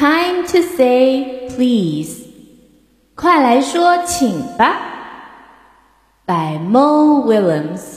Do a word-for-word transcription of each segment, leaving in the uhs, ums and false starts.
Time to say please. 快来说请吧 by Mo Willems.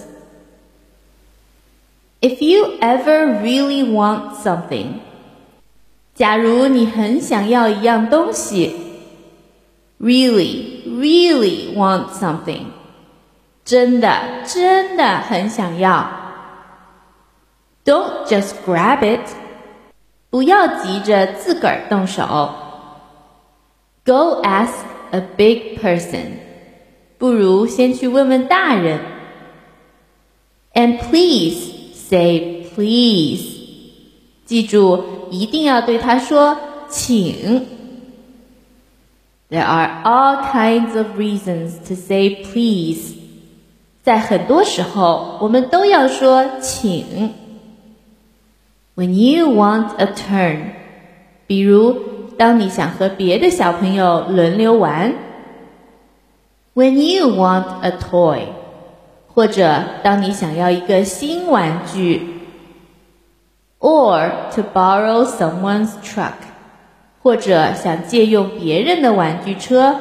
If you ever really want something, 假如你很想要一样东西 really, really want something, 真的真的很想要 Don't just grab it, 不要急着自个儿动手 Go ask a big person, 不如先去问问大人 And please say please, 记住一定要对他说请 There are all kinds of reasons to say please, 在很多时候我们都要说请 When you want a turn, 比如当你想和别的小朋友轮流玩 When you want a toy, 或者当你想要一个新玩具 Or to borrow someone's truck, 或者想借用别人的玩具车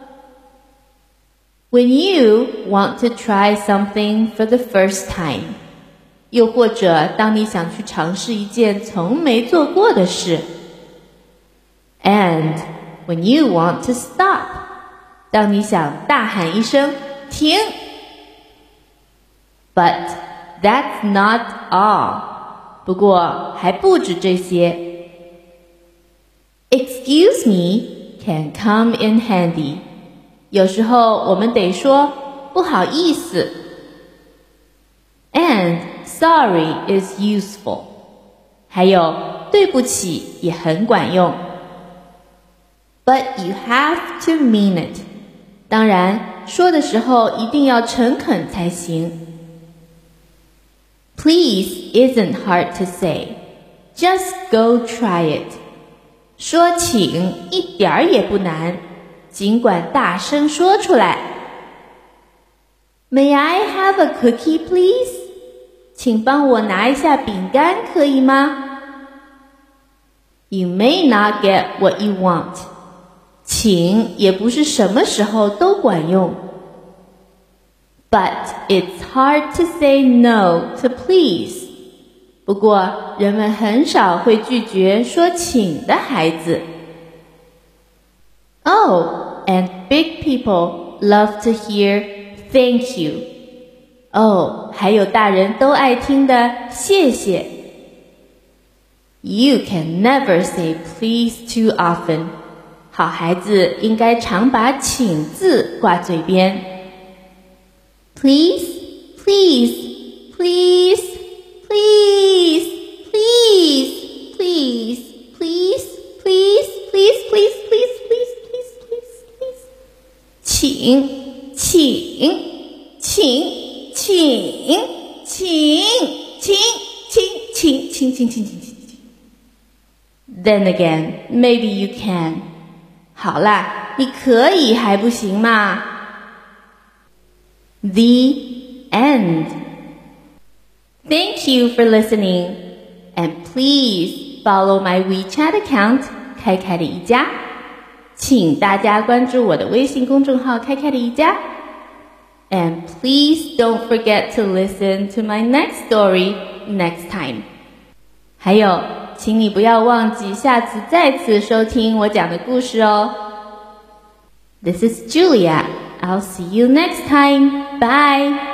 When you want to try something for the first time, 又或者当你想去尝试一件从没做过的事 And when you want to stop, 当你想大喊一声停 But that's not all, 不过还不止这些 Excuse me can come in handy, 有时候我们得说不好意思 And sorry is useful, 还有对不起也很管用 But you have to mean it, 当然说的时候一定要诚恳才行 Please isn't hard to say, just go try it, 说请一点儿也不难，尽管大声说出来 May I have a cookie, please? 请帮我拿一下饼干可以吗 You may not get what you want, 请也不是什么时候都管用 But it's hard to say no to please, 不过人们很少会拒绝说请的孩子 Oh, and big people love to hear thank you. 哦，还有大人都爱听的谢谢 You can never say please too often. 好孩子应该常把请字挂嘴边 Please, please, please, please, please, please, please, please, please, please, please, please, please, please, please. 请，请，请，请，请，请，请，请，请，请，请，请。Then again, maybe you can. 好啦，你可以还不行吗 The end. Thank you for listening, and please follow my WeChat account, 开开的一家。请大家关注我的微信公众号开开的一家。And please don't forget to listen to my next story next time. 还有，请你不要忘记下次再次收听我讲的故事哦。This is Julia. I'll see you next time. Bye.